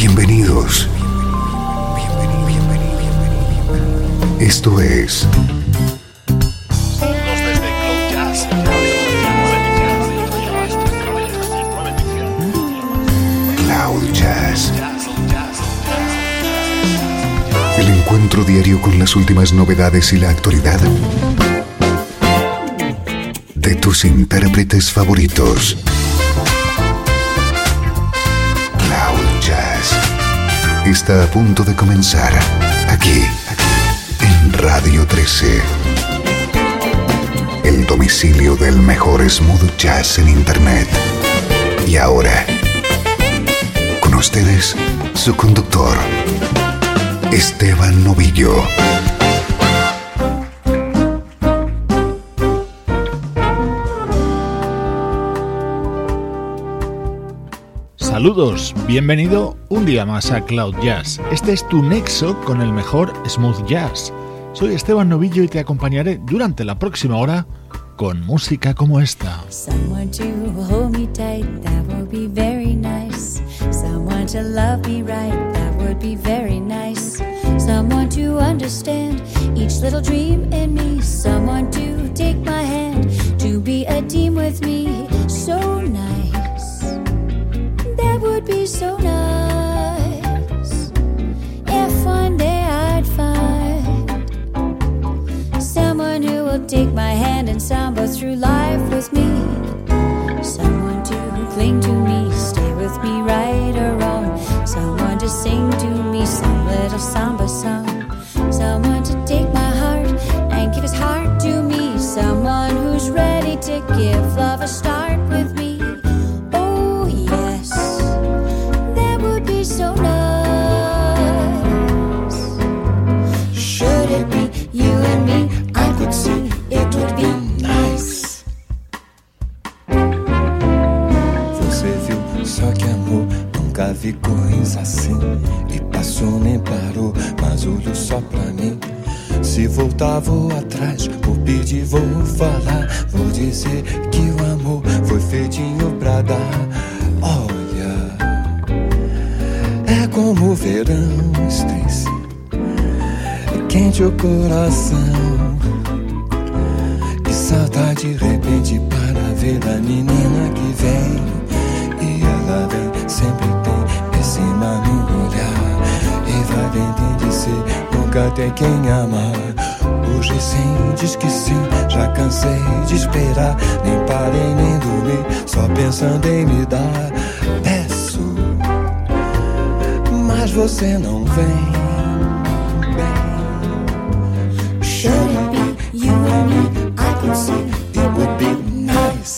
Bienvenidos. Esto es Cloud Jazz. El encuentro diario con las últimas novedades y la actualidad de tus intérpretes favoritos. Cloud Jazz está a punto de comenzar aquí en Radio 13. El domicilio del mejor smooth jazz en internet. Y ahora, con ustedes, su conductor, Esteban Novillo. Saludos, bienvenido un día más a Cloud Jazz. Este es tu nexo con el mejor smooth jazz. Soy Esteban Novillo y te acompañaré durante la próxima hora con música como esta. Someone to hold me tight, that would be very nice. Someone to love me right, that would be very nice. Someone to understand each little dream in me. Someone to take my hand, to be a team with me. So nice, that would be so nice. If one day I'd find someone who will take my hand and samba through life with me. Someone to cling to me, stay with me right or wrong. Someone to sing to me some little samba song. Someone to take my heart and give his heart to me. Someone who's ready to give love a start with me. Oh yes, that would be so nice. Should it be you and me? I could see it would be nice. Você viu, só que amor, nunca vi coisa assim. E passou nem parou, mas olhou só pra mim. Se voltar vou atrás, vou pedir, vou falar. Vou dizer que o amor foi feitinho pra dar. Olha, é como o verão, Stacy, quente o coração. Que saudade de repente para ver a menina que vem. E ela vem, sempre tem esse mar no olhar. E vai bem, tem de ser, nunca tem quem amar. Hoje sim, diz que sim, já cansei de esperar. Nem parei nem dormi, só pensando em me dar. Peço, mas você não vem. Should it be you and me? I could see It would be nice.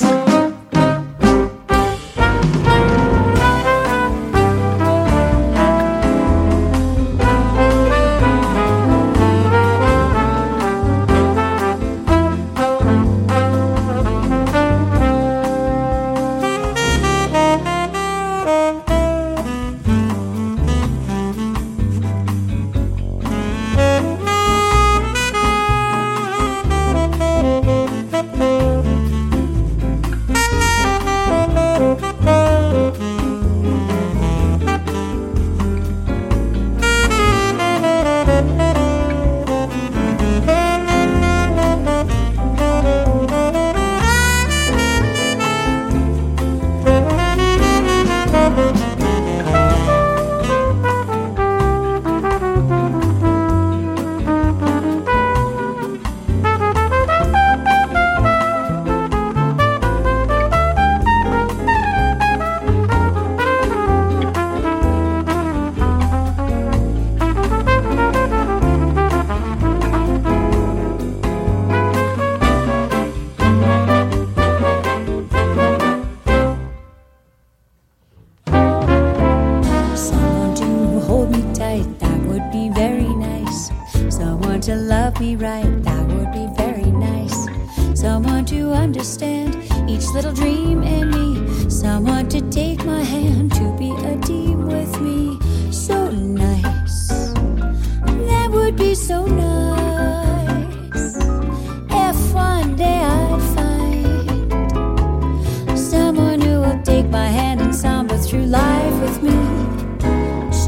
someone who will take my hand and samba through life with me.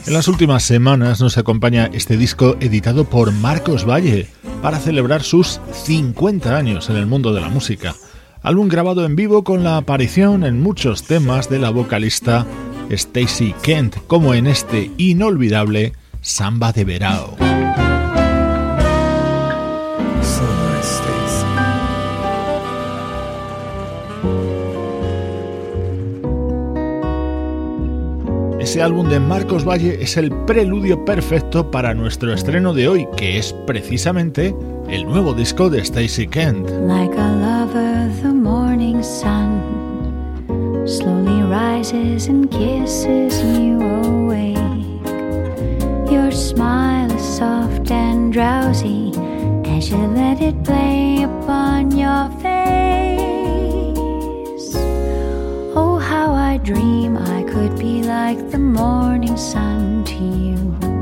En las últimas semanas nos acompaña este disco editado por Marcos Valle para celebrar sus 50 años en el mundo de la música. Álbum grabado en vivo con la aparición en muchos temas de la vocalista Stacey Kent, como en este inolvidable Samba de Verao. Ese álbum de Marcos Valle es el preludio perfecto para nuestro estreno de hoy, que es precisamente el nuevo disco de Stacey Kent. Like a lover, the morning sun slowly rises and kisses you awake. Your smile is soft and drowsy as you let it play upon your face. Oh, how I dream I could be like the morning sun to you.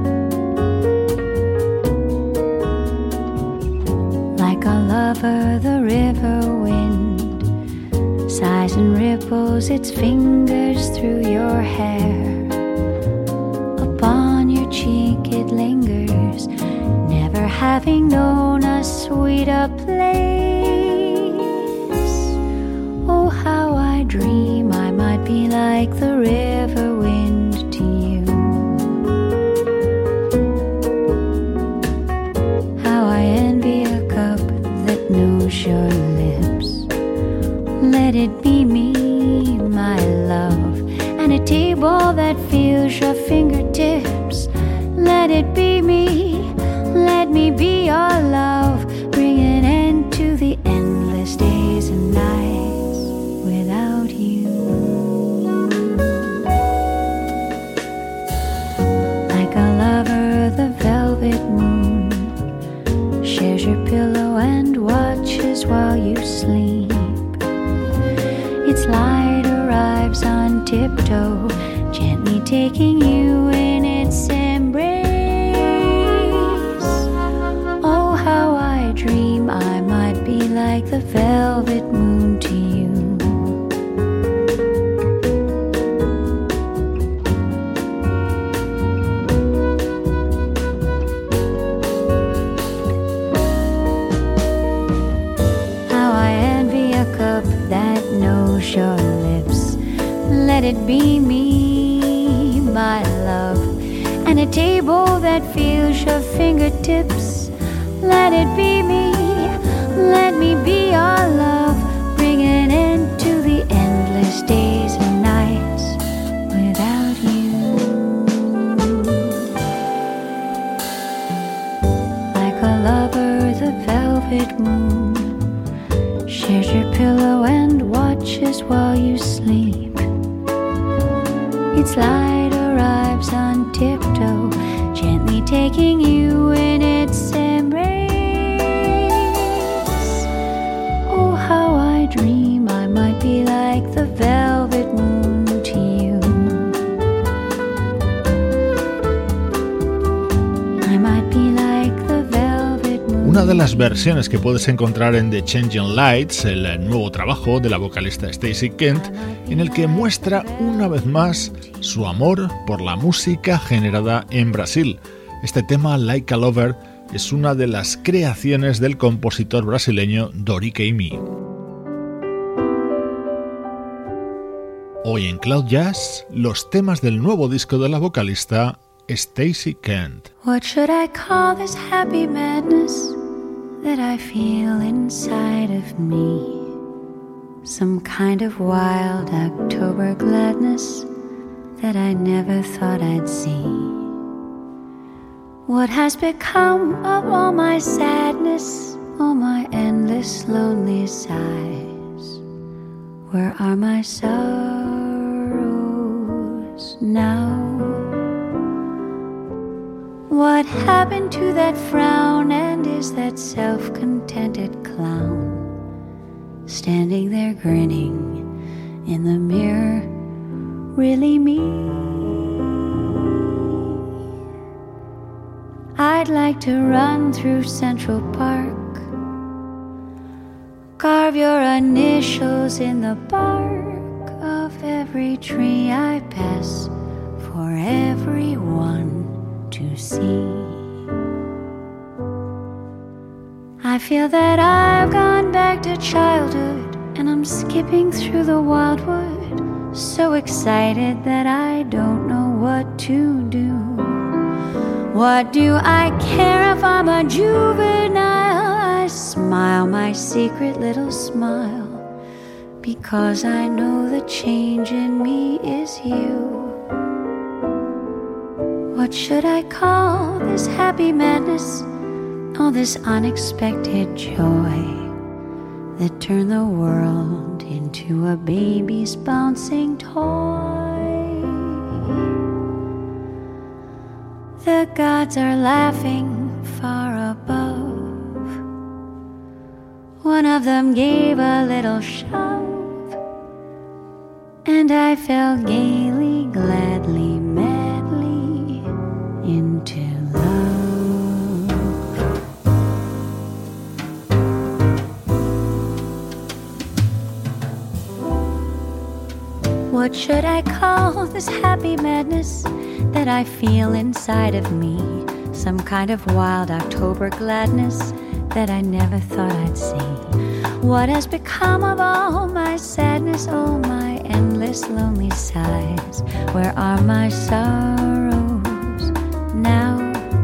Like a lover, the river wind sighs and ripples its fingers through your hair. Upon your cheek it lingers, never having known a sweeter place. Oh, how I dream I might be like the river wind to you. How I envy a cup that knows your lips. Let it be me, my love, and a table that feels your fingertips. Let it be me, let me be your love. Bring an end to the endless days and nights without you. Like a lover, the velvet moon shares your pillow and watches while you sleep. Its light arrives on tiptoe, gently taking you in its embrace. Oh, how I dream I might be like the velvet moon to you. How I envy a cup that knows your lips. Let it be me, my love, and a table that feels your fingertips. Let it be me, let me be your love. Bring an end to the endless days and nights without you. Like a lover, the velvet moon shares your pillow and watches while you sleep. Its light arrives on tiptoe, gently taking you in its embrace. Oh, how I dream I might be like the velvet moon to you. I might be like the velvet moon. Una de las versiones que puedes encontrar en The Changing Lights, el nuevo trabajo de la vocalista Stacey Kent, en el que muestra una vez más su amor por la música generada en Brasil. Este tema, Like a Lover, es una de las creaciones del compositor brasileño Dori Caymmi. Hoy en Cloud Jazz, los temas del nuevo disco de la vocalista Stacey Kent. What should I call this happy madness that I feel inside of me? Some kind of wild October gladness that I never thought I'd see. What has become of all my sadness, all my endless lonely sighs? Where are my sorrows now? What happened to that frown, and is that self-contented clown standing there grinning in the mirror really me? I'd like to run through Central Park, carve your initials in the bark of every tree I pass for everyone. feel that I've gone back to childhood, and I'm skipping through the wildwood, so excited that I don't know what to do. What do I care if I'm a juvenile? I smile my secret little smile, because I know the change in me is you. What should I call this happy madness? All this unexpected joy that turned the world into a baby's bouncing toy. The gods are laughing far above. One of them gave a little shove, and I fell gaily, gladly, madly into love. What should I call this happy madness that I feel inside of me? Some kind of wild October gladness that I never thought I'd see. What has become of all my sadness, all my endless lonely sighs? Where are my sorrows now?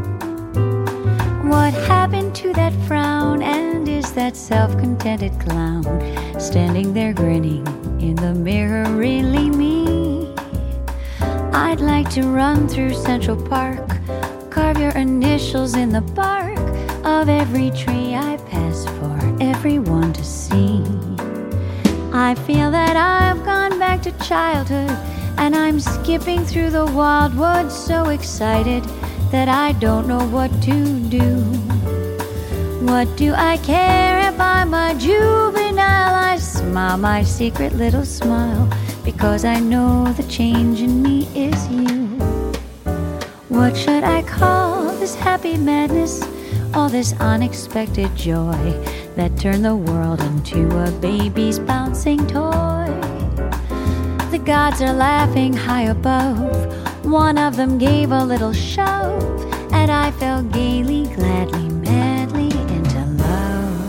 What happened to that frown? And is that self-contented clown standing there grinning in the mirror really me? I'd like to run through Central Park, carve your initials in the bark of every tree I pass for everyone to see. I feel that I've gone back to childhood, and I'm skipping through the wildwood, so excited that I don't know what to do. What do I care if I'm a juvenile? I smile my secret little smile, because I know the change in me is you. What should I call this happy madness? All this unexpected joy that turned the world into a baby's bouncing toy. The gods are laughing high above. One of them gave a little shove, and I fell gaily, gladly, madly into love.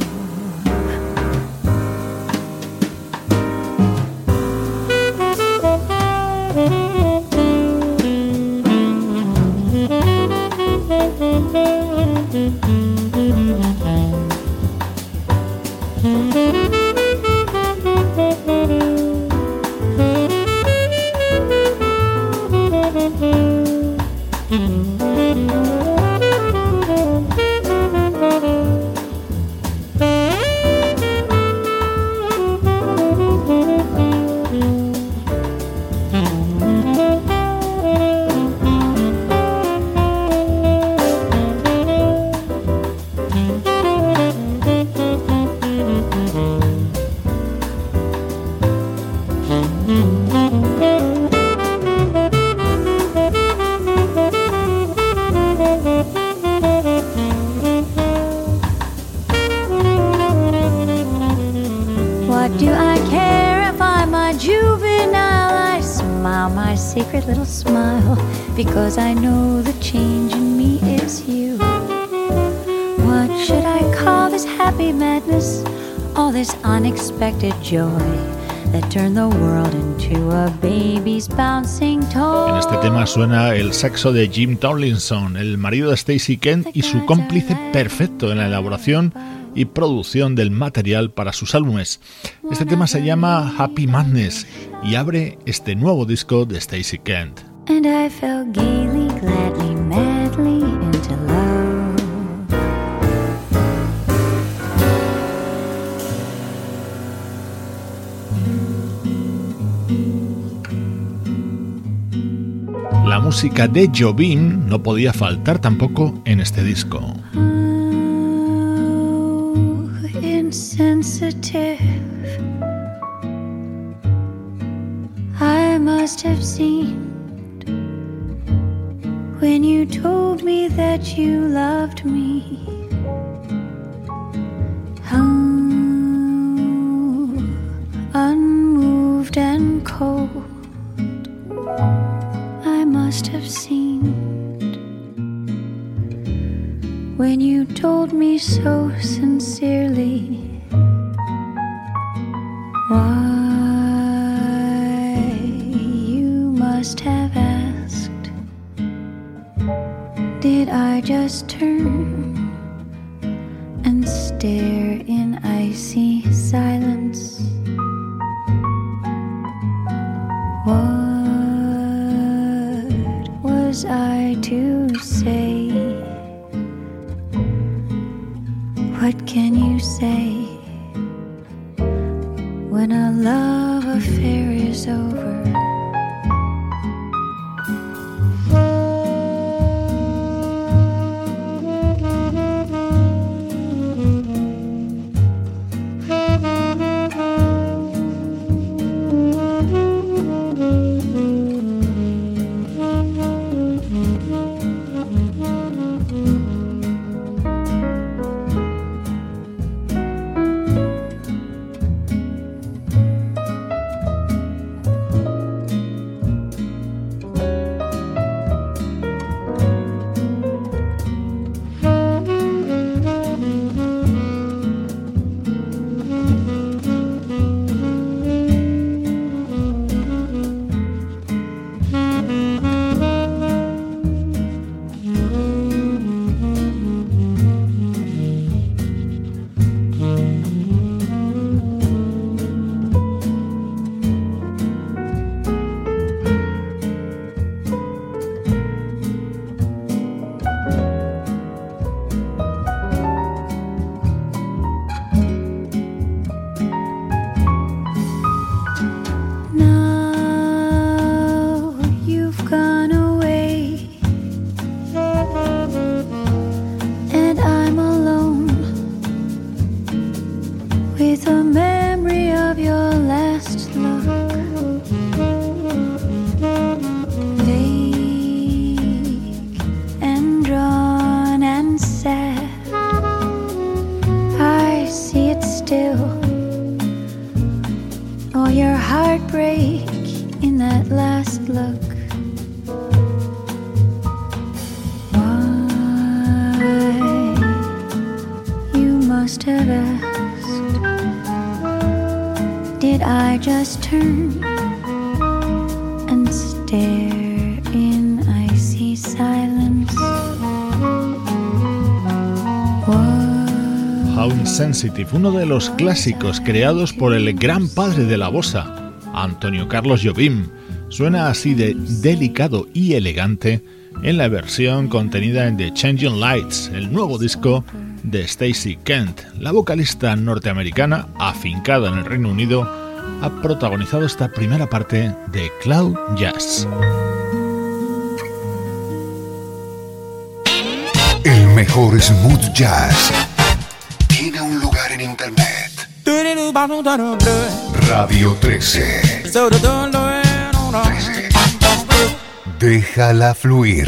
Secret little smile, because I know the change in me is you. What should I call this happy madness? All this unexpected joy that turned the world into a baby's bouncing toy. En este tema suena el saxo de Jim Tomlinson, el marido de Stacey Kent y su cómplice perfecto en la elaboración y producción del material para sus álbumes. Este tema se llama Happy Madness y abre este nuevo disco de Stacey Kent. And I fell gaily, gladly, madly into love. La música de Jobim no podía faltar tampoco en este disco. Insensitive, I must have seemed when you told me that you loved me. Unmoved and cold, I must have seemed when you told me so sincerely why you must have asked. Did I just turn and stare in icy silence? What was I to say? What can you say when a love affair is over? Uno de los clásicos creados por el gran padre de la bossa, Antonio Carlos Jobim, suena así de delicado y elegante en la versión contenida en The Changing Lights, el nuevo disco de Stacey Kent. La vocalista norteamericana, afincada en el Reino Unido, ha protagonizado esta primera parte de Cloud Jazz. El mejor smooth jazz tiene un lugar en internet. Radio 13. Déjala fluir.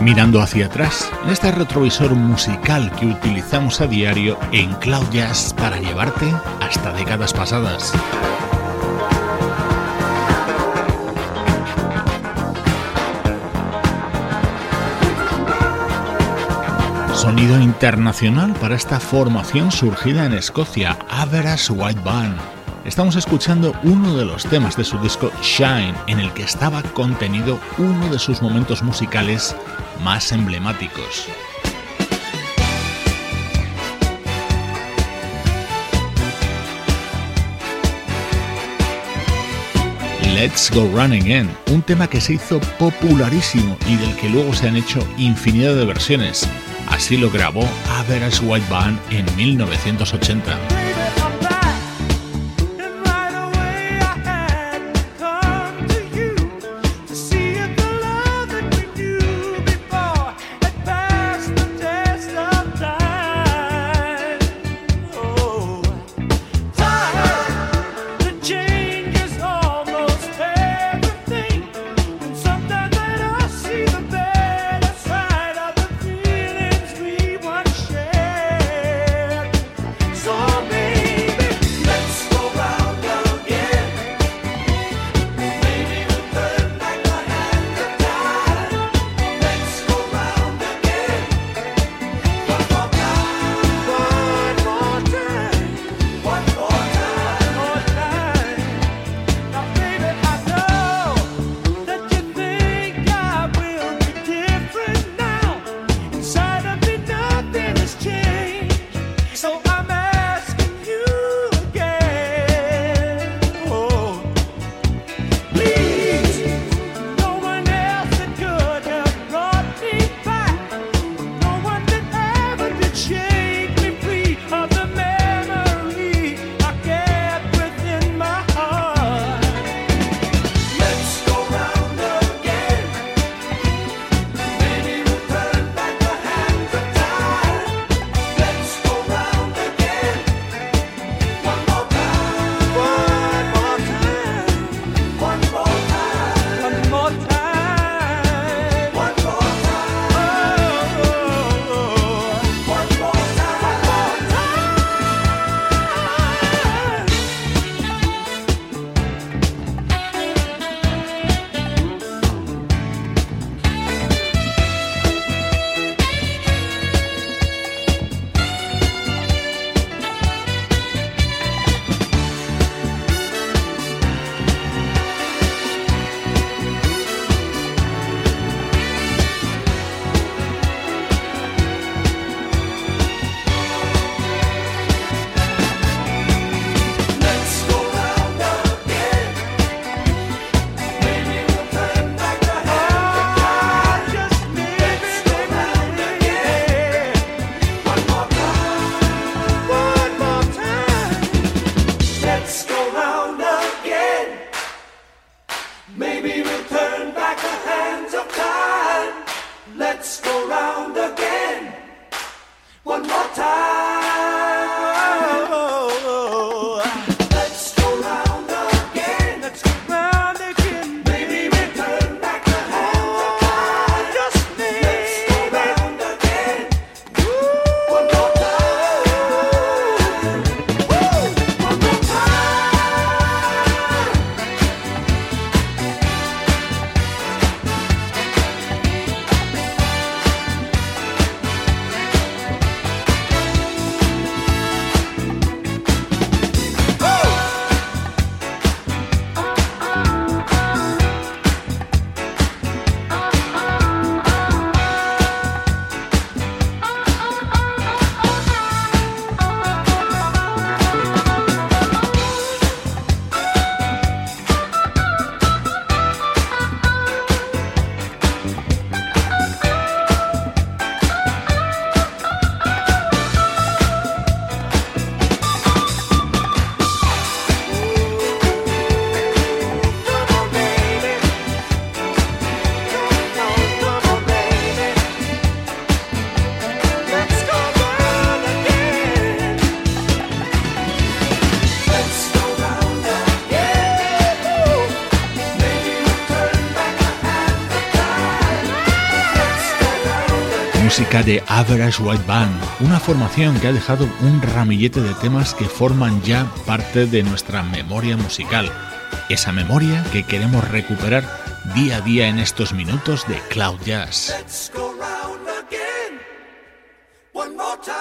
Mirando hacia atrás, en este retrovisor musical que utilizamos a diario en Cloud Jazz para llevarte hasta décadas pasadas. Sonido internacional para esta formación surgida en Escocia, Average White Band. Estamos escuchando uno de los temas de su disco Shine, en el que estaba contenido uno de sus momentos musicales más emblemáticos. Let's Go Running Again, un tema que se hizo popularísimo y del que luego se han hecho infinidad de versiones. Así lo grabó Average White Band en 1980. So música de Average White Band, una formación que ha dejado un ramillete de temas que forman ya parte de nuestra memoria musical. Esa memoria que queremos recuperar día a día en estos minutos de Cloud Jazz. Let's go round again, one more time.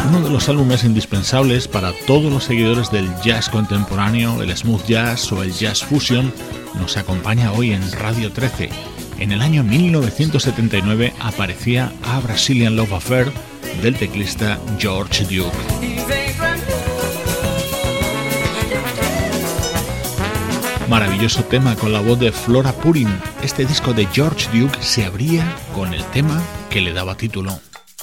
uno de los álbumes indispensables para todos los seguidores del jazz contemporáneo, el smooth jazz o el jazz fusion, nos acompaña hoy en Radio 13. En el año 1979 aparecía A Brazilian Love Affair del teclista George Duke. Maravilloso tema con la voz de Flora Purin. Este disco de George Duke se abría con el tema que le daba título.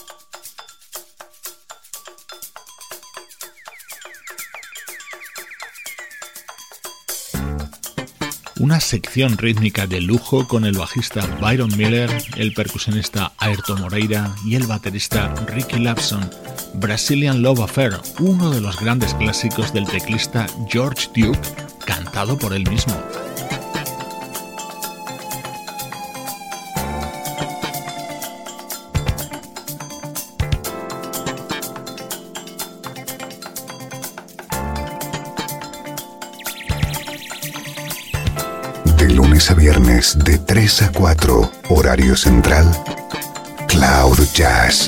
Una sección rítmica de lujo con el bajista Byron Miller, el percusionista Airto Moreira y el baterista Ricky Lapson. Brazilian Love Affair, uno de los grandes clásicos del teclista George Duke, cantado por él mismo. De lunes a viernes de 3 a 4, horario central, Cloud Jazz.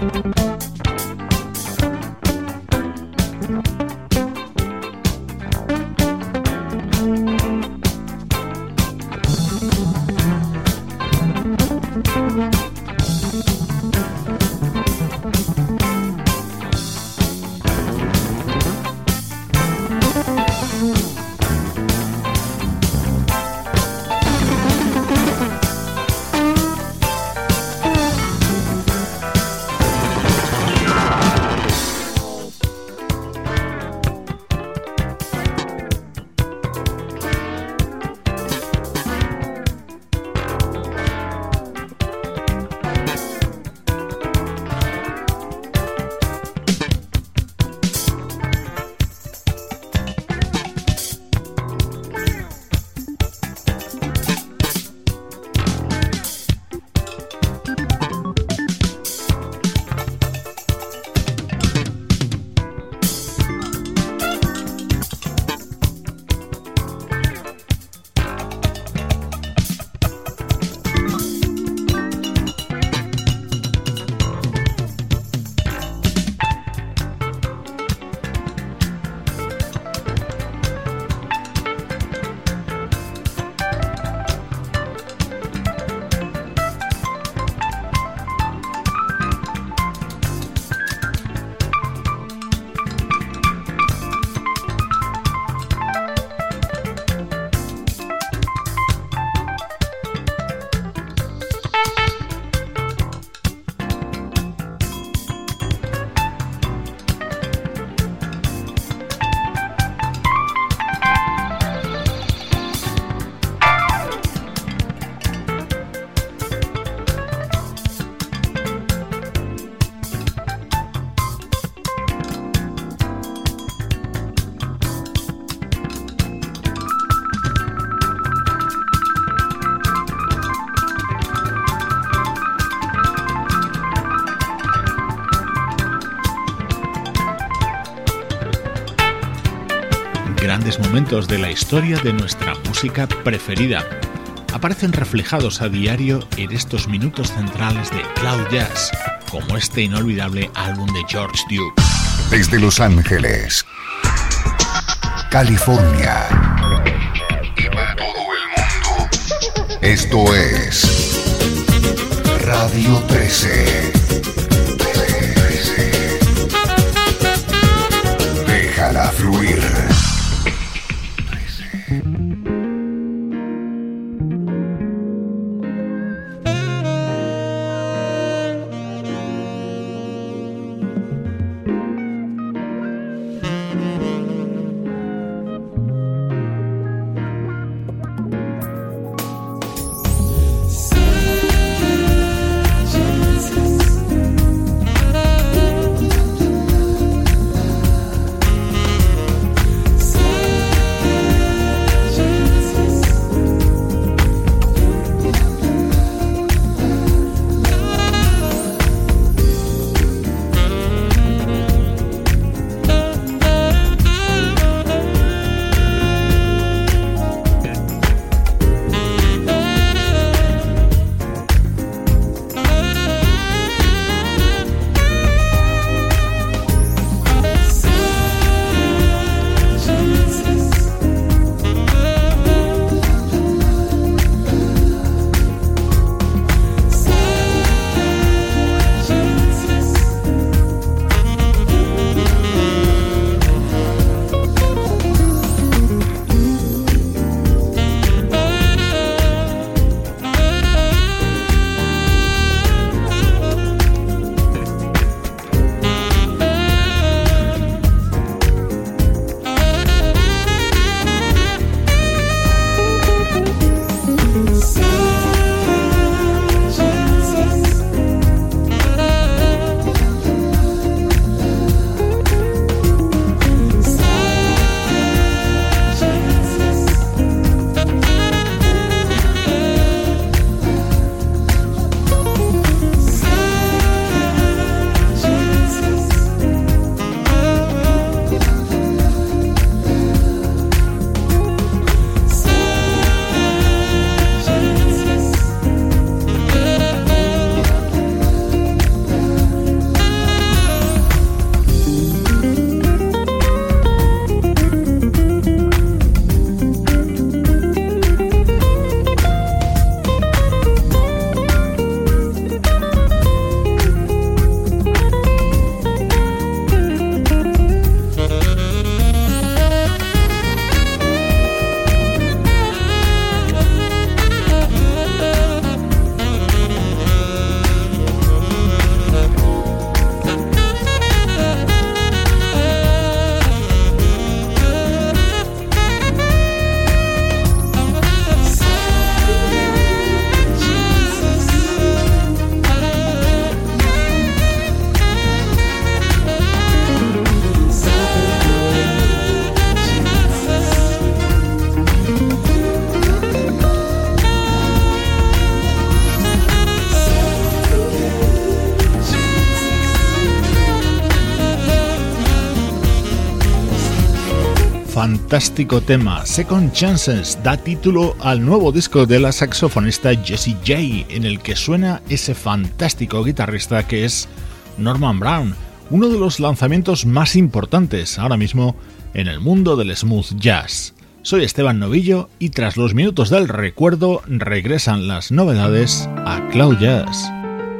Grandes momentos de la historia de nuestra música preferida aparecen reflejados a diario en estos minutos centrales de Cloud Jazz, como este inolvidable álbum de George Duke. Desde Los Ángeles, California y para todo el mundo, esto es Radio 13. Déjala fluir. Jesus. fantástico tema. Second Chances da título al nuevo disco de la saxofonista Jessie J, en el que suena ese fantástico guitarrista que es Norman Brown, uno de los lanzamientos más importantes ahora mismo en el mundo del smooth jazz. Soy Esteban Novillo y tras los minutos del recuerdo regresan las novedades a Cloud Jazz.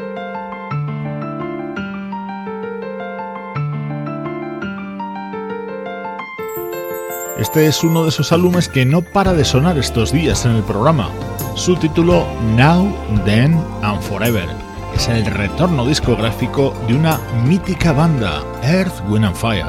Este es uno de esos álbumes que no para de sonar estos días en el programa. Su título Now, Then and Forever es el retorno discográfico de una mítica banda, Earth, Wind and Fire.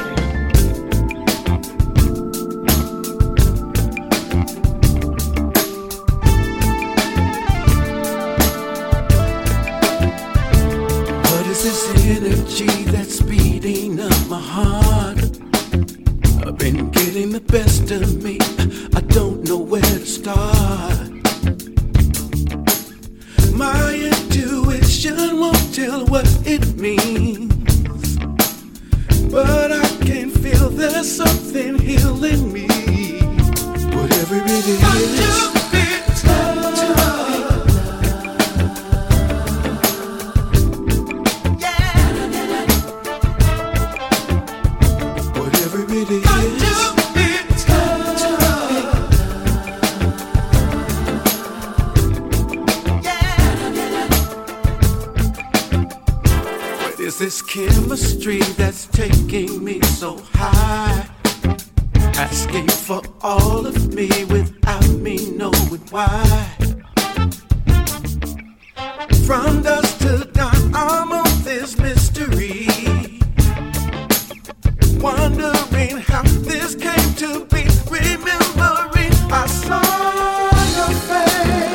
The best of me, I don't know where to start. My intuition won't tell what it means, but I can feel there's something healing me. Whatever it is, this chemistry that's taking me so high, asking for all of me without me knowing why. From dusk to dawn, I'm on this mystery, wondering how this came to be. Remembering I saw your face.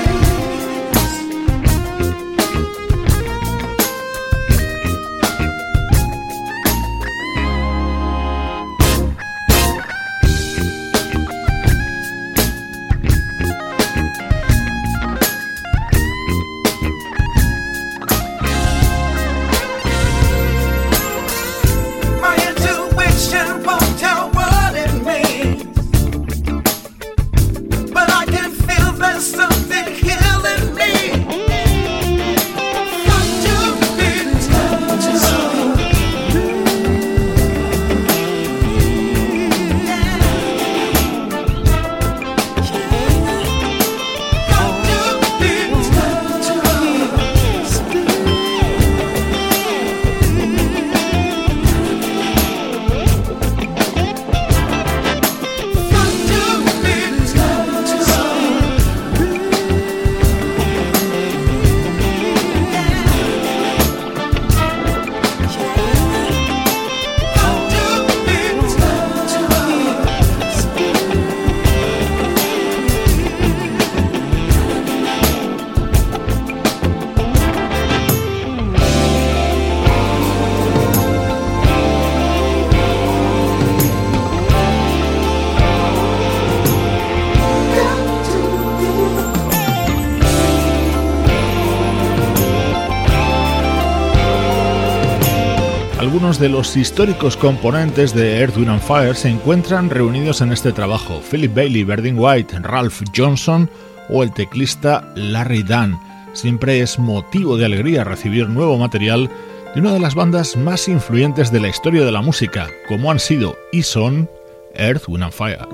Algunos de los históricos componentes de Earth, Wind and Fire se encuentran reunidos en este trabajo: Philip Bailey, Berdine White, Ralph Johnson o el teclista Larry Dunn. Siempre es motivo de alegría recibir nuevo material de una de las bandas más influyentes de la historia de la música, como han sido y son Earth, Wind and Fire.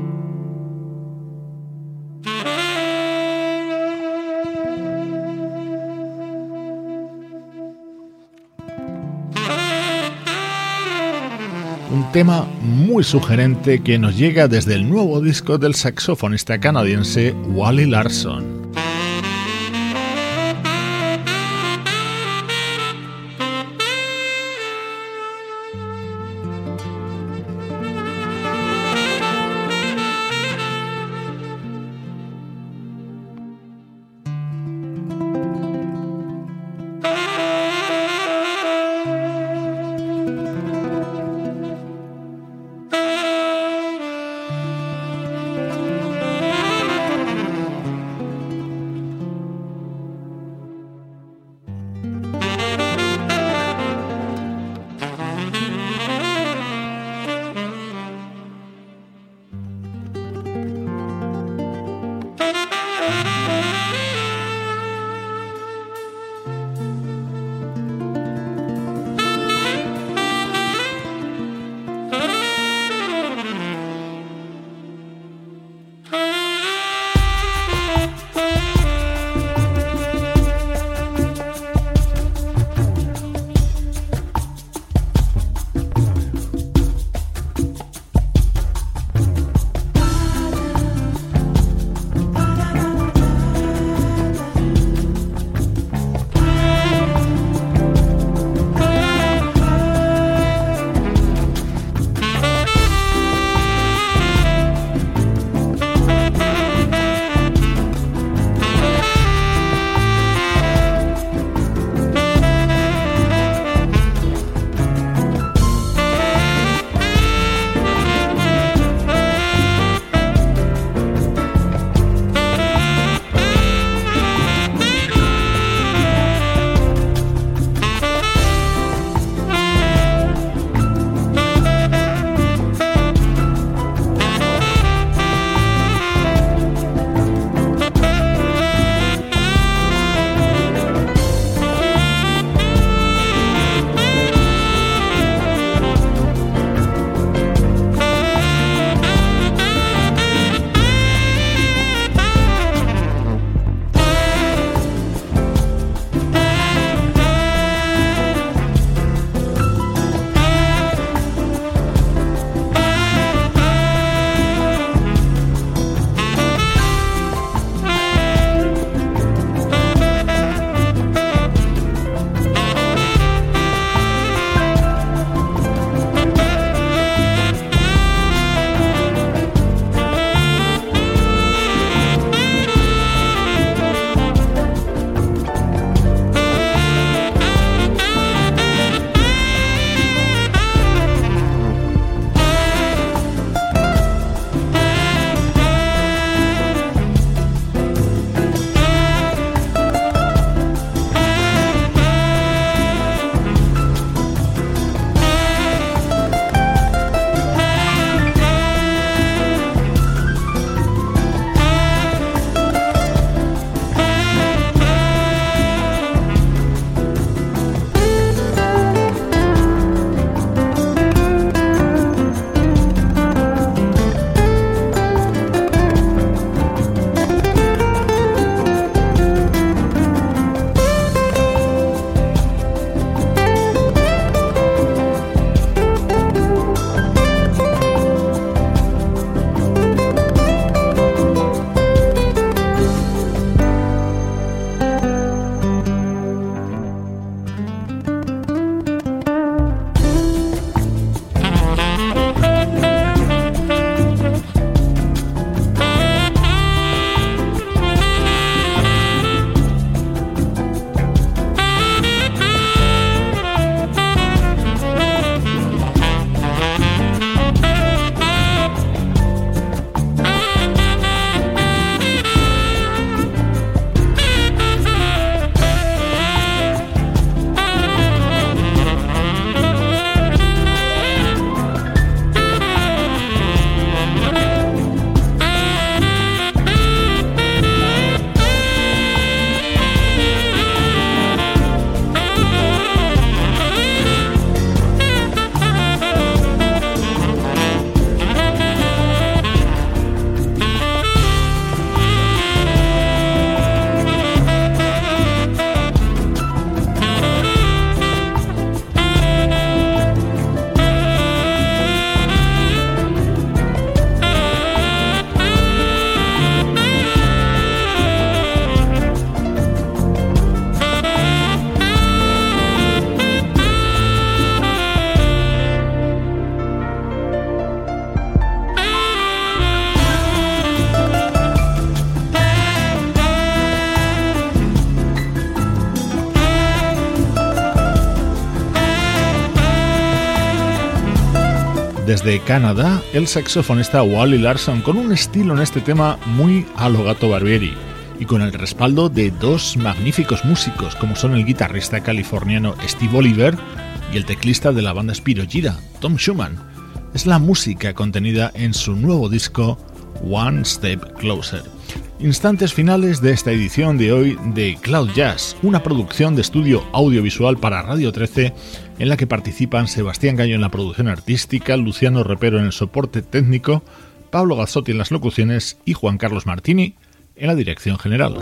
Un tema muy sugerente que nos llega desde el nuevo disco del saxofonista canadiense Wally Larson. Desde Canadá, el saxofonista Wally Larson, con un estilo en este tema muy a lo Gato Barbieri y con el respaldo de dos magníficos músicos como son el guitarrista californiano Steve Oliver y el teclista de la banda Spirogyra, Tom Schumann. Es la música contenida en su nuevo disco One Step Closer. Instantes finales de esta edición de hoy de Cloud Jazz, una producción de estudio audiovisual para Radio 13 en la que participan Sebastián Gallo en la producción artística, Luciano Repero en el soporte técnico, Pablo Gazzotti en las locuciones y Juan Carlos Martini en la dirección general.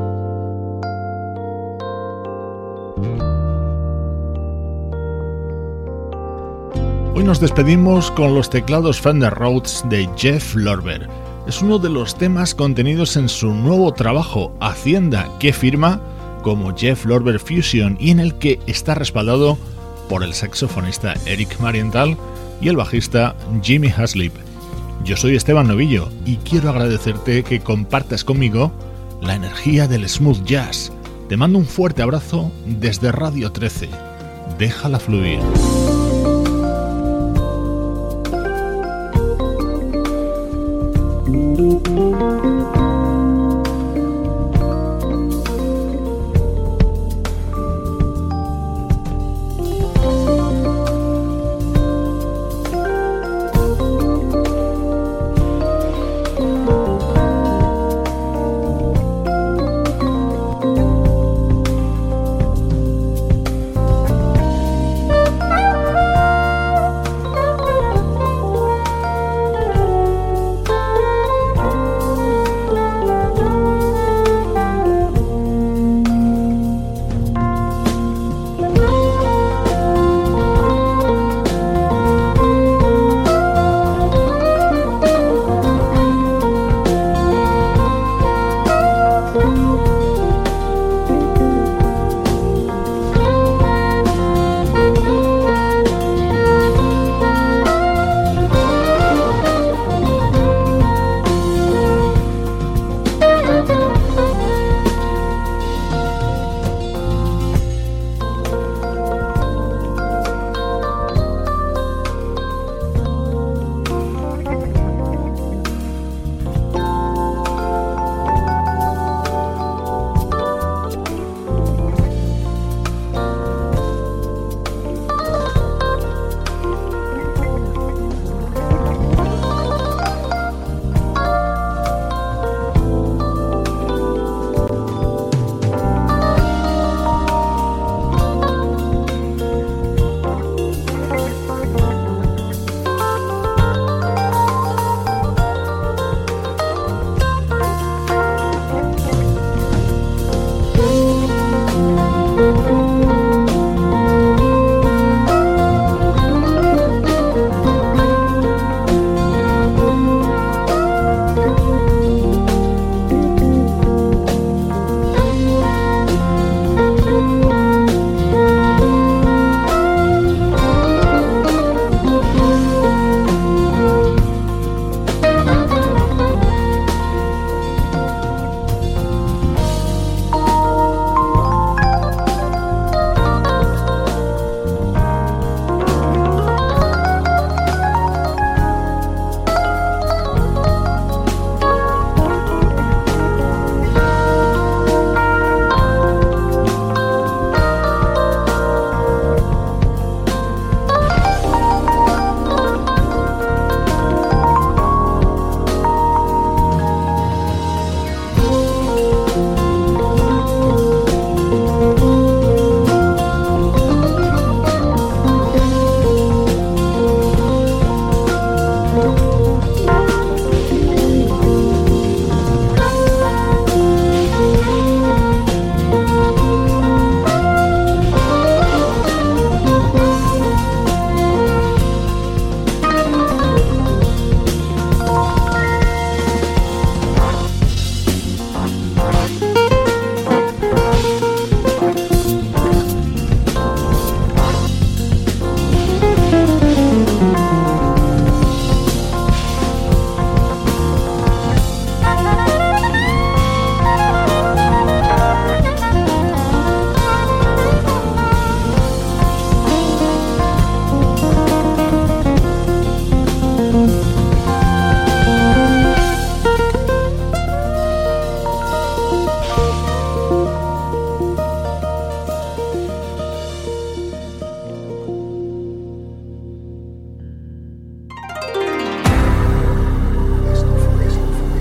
Hoy nos despedimos con los teclados Fender Rhodes de Jeff Lorber. Es uno de los temas contenidos en su nuevo trabajo Hacienda, que firma como Jeff Lorber Fusion y en el que está respaldado por el saxofonista Eric Marienthal y el bajista Jimmy Haslip. Yo soy Esteban Novillo y quiero agradecerte que compartas conmigo la energía del smooth jazz. Te mando un fuerte abrazo desde Radio 13. Déjala fluir.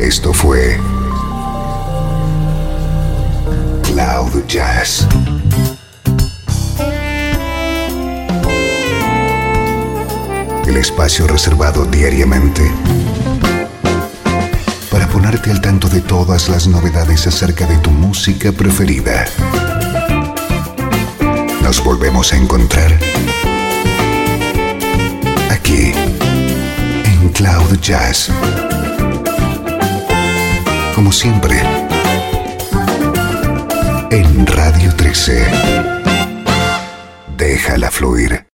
Esto fue Cloud Jazz. El espacio reservado diariamente para ponerte al tanto de todas las novedades acerca de tu música preferida. Nos volvemos a encontrar aquí en Cloud Jazz. Como siempre, en Radio 13. Déjala fluir.